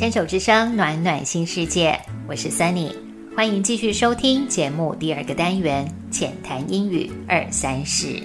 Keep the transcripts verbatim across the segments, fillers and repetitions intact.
牵手之声暖暖新世界，我是 Sunny， 欢迎继续收听节目第二个单元浅谈英语二三事。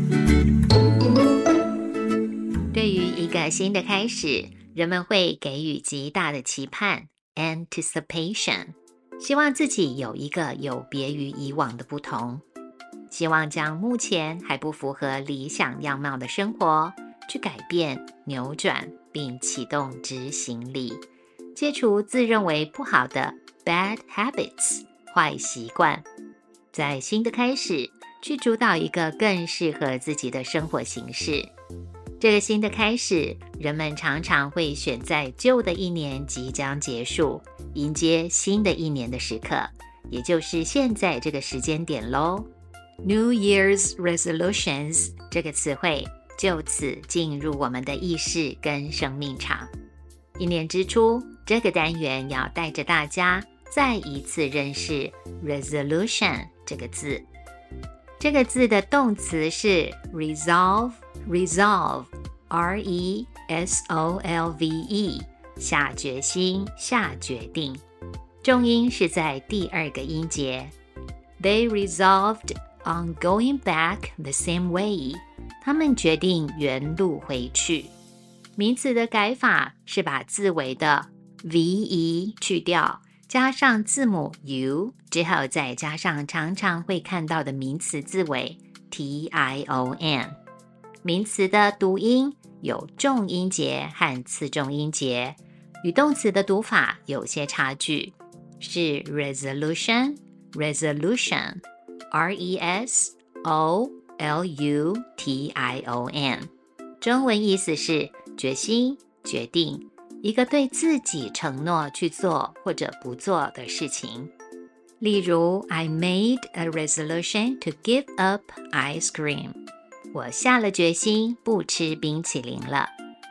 对于一个新的开始，人们会给予极大的期盼 anticipation， 希望自己有一个有别于以往的不同，希望将目前还不符合理想样貌的生活去改变、扭转并启动执行力，戒除自认为不好的 bad habits 坏习惯，在新的开始去主导一个更适合自己的生活形式。这个新的开始，人们常常会选在旧的一年即将结束，迎接新的一年的时刻，也就是现在这个时间点咯。 New Year's Resolutions 这个词汇就此进入我们的意识跟生命场。一年之初，这个单元要带着大家再一次认识 resolution 这个字。这个字的动词是 resolve resolve R E S O L V E 下决心、下决定，重音是在第二个音节。 They resolved on going back the same way， 他们决定原路回去。名词的改法是把字尾的 ve 去掉，加上字母 u 之后，再加上常常会看到的名词字尾 tion。 名词的读音有重音节和次重音节，与动词的读法有些差距，是 resolution resolution R E S O L U T I O N， 中文意思是决心、决定，一个对自己承诺去做或者不做的事情。例如 I made a resolution to give up ice cream， 我下了决心不吃冰淇淋了。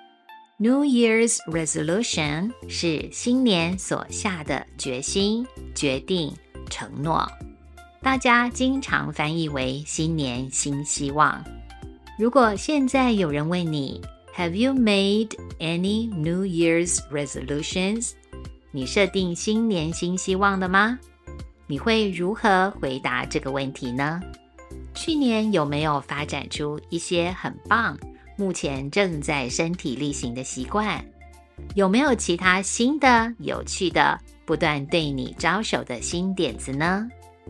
New Year's Resolution 是新年所下的决心、决定、承诺，大家经常翻译为新年新希望。如果现在有人问你Have you made any New Year's resolutions？ 你设定新年新希望了吗？你会如何回答这个问题呢？去年有没有发展出一些很棒，目前正在身体力行的习惯？有没有其他新的、有趣的、不断对你招手的新点子呢？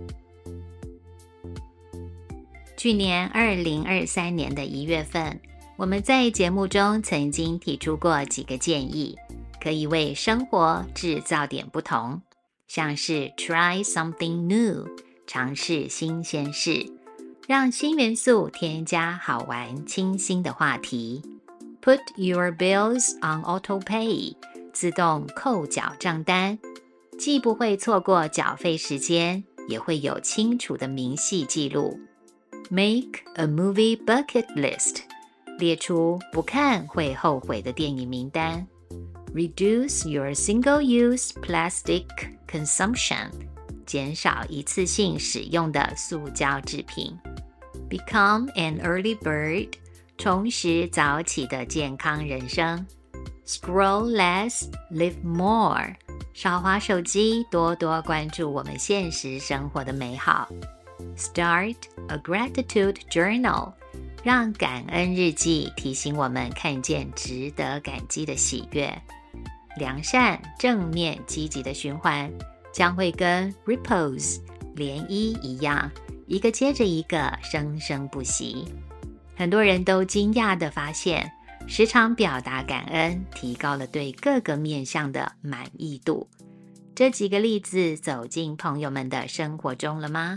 去年二零二三年的一月份，我们在节目中曾经提出过几个建议，可以为生活制造点不同，像是 try something new， 尝试新鲜事，让新元素添加好玩清新的话题， put your bills on auto pay， 自动扣缴账单，既不会错过缴费时间，也会有清楚的明细记录， make a movie bucket list，列出不看会后悔的电影名单， Reduce your single-use plastic consumption， 减少一次性使用的塑胶制品， Become an early bird， 重拾早起的健康人生， Scroll less, live more， 少滑手机，多多关注我们现实生活的美好， Start a gratitude journal，让感恩日记提醒我们看见值得感激的喜悦。良善、正面、积极的循环将会跟 ripples 涟漪一样，一个接着一个，生生不息。很多人都惊讶地发现，时常表达感恩提高了对各个面向的满意度。这几个例子走进朋友们的生活中了吗？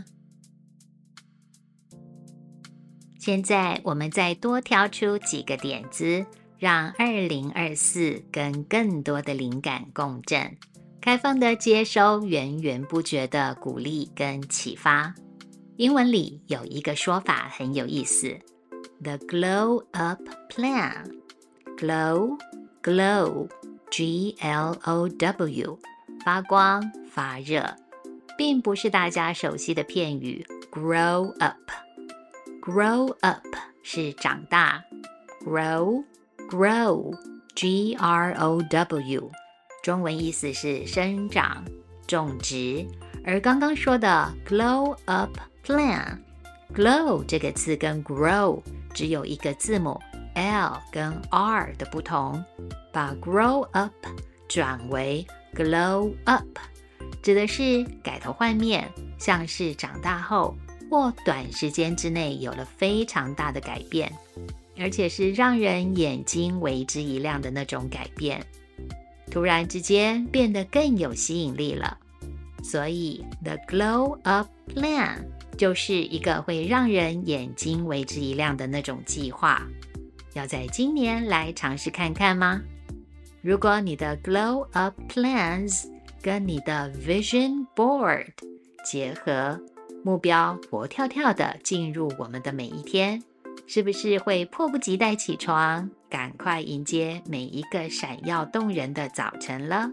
现在我们再多挑出几个点子，让二零二四跟更多的灵感共振，开放的接收源源不绝的鼓励跟启发。英文里有一个说法很有意思， The Glow Up Plan。 Glow, glow, G L O W， 发光发热，并不是大家熟悉的片语 grow up。Grow up 是长大， grow grow G R O W 中文意思是生长、种植。而刚刚说的 glow up plan， glow 这个字跟 grow 只有一个字母 L 跟 R 的不同，把 grow up 转为 glow up， 指的是改头换面，像是长大后或短时间之内有了非常大的改变，而且是让人眼睛为之一亮的那种改变，突然之间变得更有吸引力了。所以 The Glow Up Plan 就是一个会让人眼睛为之一亮的那种计划，要在今年来尝试看看吗？如果你的 Glow Up Plans 跟你的 Vision Board 结合，目标活跳跳的进入我们的每一天，是不是会迫不及待起床，赶快迎接每一个闪耀动人的早晨了？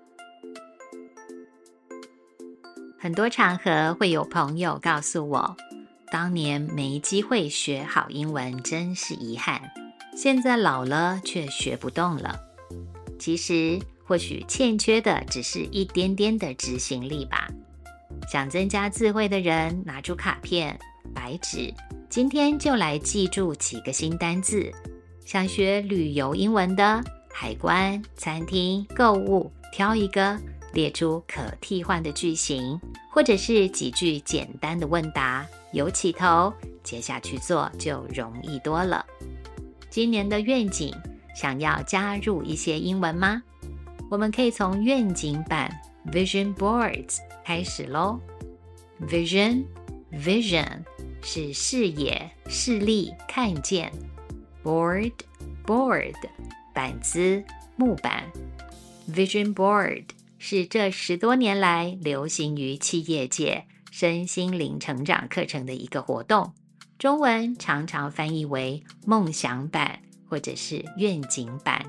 很多场合会有朋友告诉我，当年没机会学好英文真是遗憾，现在老了却学不动了。其实或许欠缺的只是一点点的执行力吧。想增加智慧的人拿出卡片、白纸，今天就来记住几个新单字。想学旅游英文的，海关、餐厅、购物，挑一个，列出可替换的句型，或者是几句简单的问答，有起头，接下去做就容易多了。今年的愿景，想要加入一些英文吗？我们可以从愿景版 Vision Boards 开始咯。 Vision Vision 是视野、视力、看见。 Board Board 板子、木板。 Vision Board 是这十多年来流行于企业界身心灵成长课程的一个活动，中文常常翻译为梦想版或者是愿景版。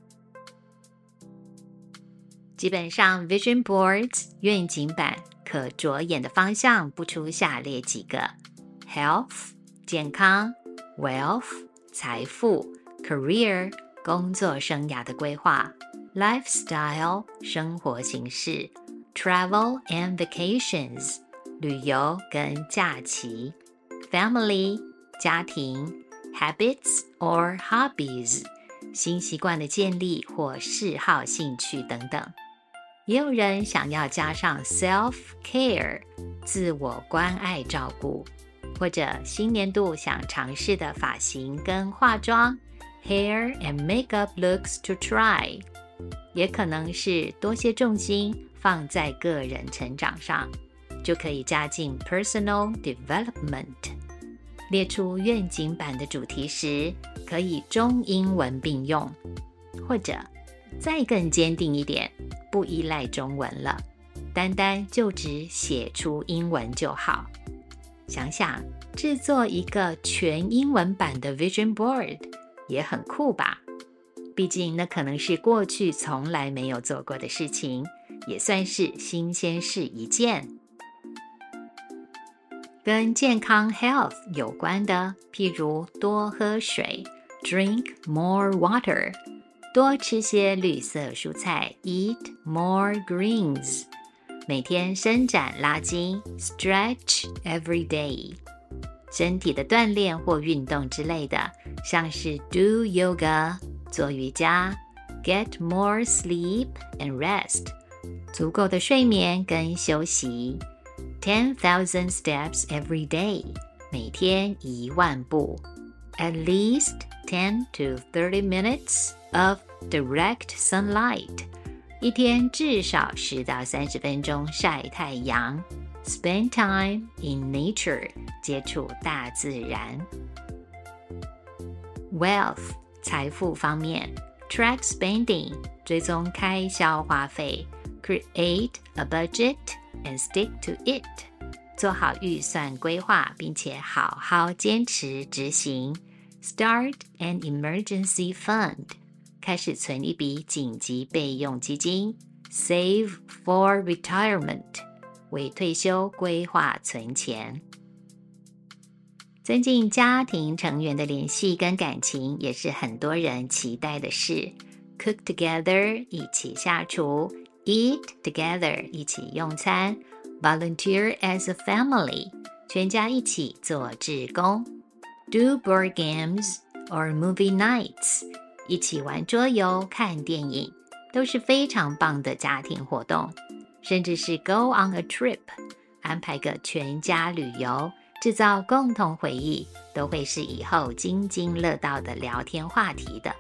基本上 Vision Boards 愿景版可着眼的方向不出下列几个： Health 健康， Wealth 财富， Career 工作生涯的规划， Lifestyle 生活形式， Travel and Vacations 旅游跟假期， Family 家庭， Habits or Hobbies 新习惯的建立或嗜好兴趣等等。也有人想要加上 self-care 自我关爱照顾，或者新年度想尝试的发型跟化妆 hair and makeup looks to try， 也可能是多些重心放在个人成长上，就可以加进 personal development。 列出愿景版的主题时，可以中英文并用，或者再更坚定一点，不依赖中文了，单单就只写出英文就好。想想制作一个全英文版的 Vision Board 也很酷吧？毕竟那可能是过去从来没有做过的事情，也算是新鲜事一件。跟健康 health 有关的，譬如多喝水 drink more water， 多吃些绿色蔬菜 eat more greens， 每天伸展拉筋 stretch every day， 身体的锻炼或运动之类的，像是 do yoga 做瑜伽， get more sleep and rest 足够的睡眠跟休息， ten thousand steps every day 每天一万步， at least ten to thirty minutes of direct sunlight 一天至少十到三十分钟晒太阳， spend time in nature 接触大自然。 Wealth 财富方面， track spending 追踪开销花费， create a budget and stick to it 做好预算规划并且好好坚持执行， start an emergency fund 开始存一笔紧急备用基金， save for retirement 为退休规划存钱。增进家庭成员的联系跟感情也是很多人期待的事。 cook together 一起下厨， eat together 一起用餐， volunteer as a family 全家一起做志工， do board games or movie nights 一起玩桌游看电影，都是非常棒的家庭活动。甚至是 go on a trip 安排个全家旅游，制造共同回忆，都会是以后津津乐道的聊天话题的。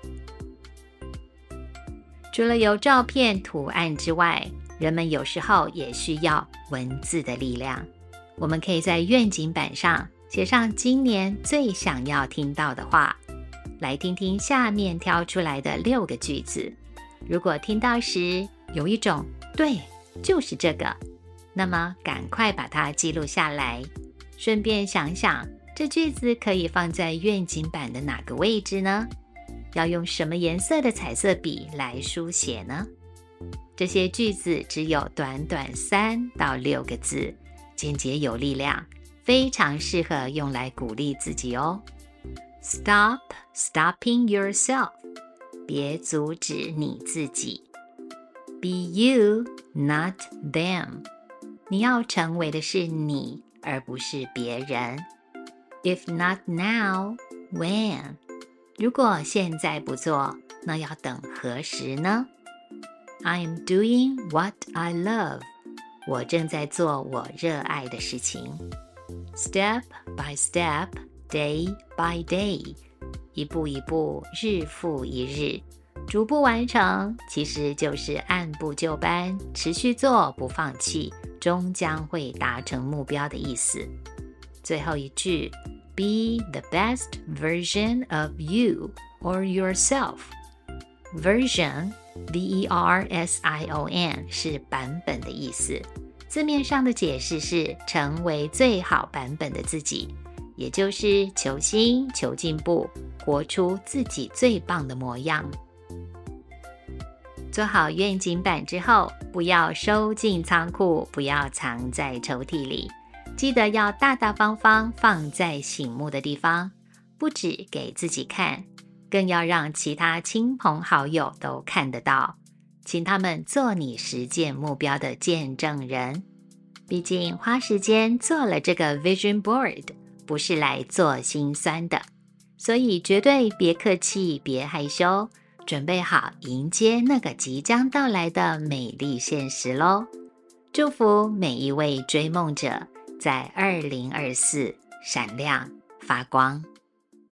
除了有照片图案之外，人们有时候也需要文字的力量。我们可以在愿景板上写上今年最想要听到的话，来听听下面挑出来的六个句子。如果听到时有一种对，就是这个，那么赶快把它记录下来，顺便想想这句子可以放在愿景板的哪个位置呢？要用什么颜色的彩色笔来书写呢？这些句子只有短短三到六个字，简洁有力量，非常适合用来鼓励自己哦。 Stop stopping yourself 别阻止你自己， Be you, not them 你要成为的是你，而不是别人。 If not now, when 如果现在不做，那要等何时呢？ I'm doing what I love 我正在做我热爱的事情。 Step by step, day by day 一步一步，日复一日，逐步完成，其实就是按部就班，持续做，不放弃，终将会达成目标的意思。最后一句 Be the best version of you or yourself. Version, V E R S I O N 是版本的意思，字面上的解释是成为最好版本的自己，也就是求新求进步，活出自己最棒的模样。做好愿景板之后，不要收进仓库，不要藏在抽屉里，记得要大大方方放在醒目的地方，不只给自己看，更要让其他亲朋好友都看得到，请他们做你实践目标的见证人。毕竟花时间做了这个 Vision Board 不是来做心酸的，所以绝对别客气，别害羞，准备好迎接那个即将到来的美丽现实咯。祝福每一位追梦者在二零二四闪亮发光。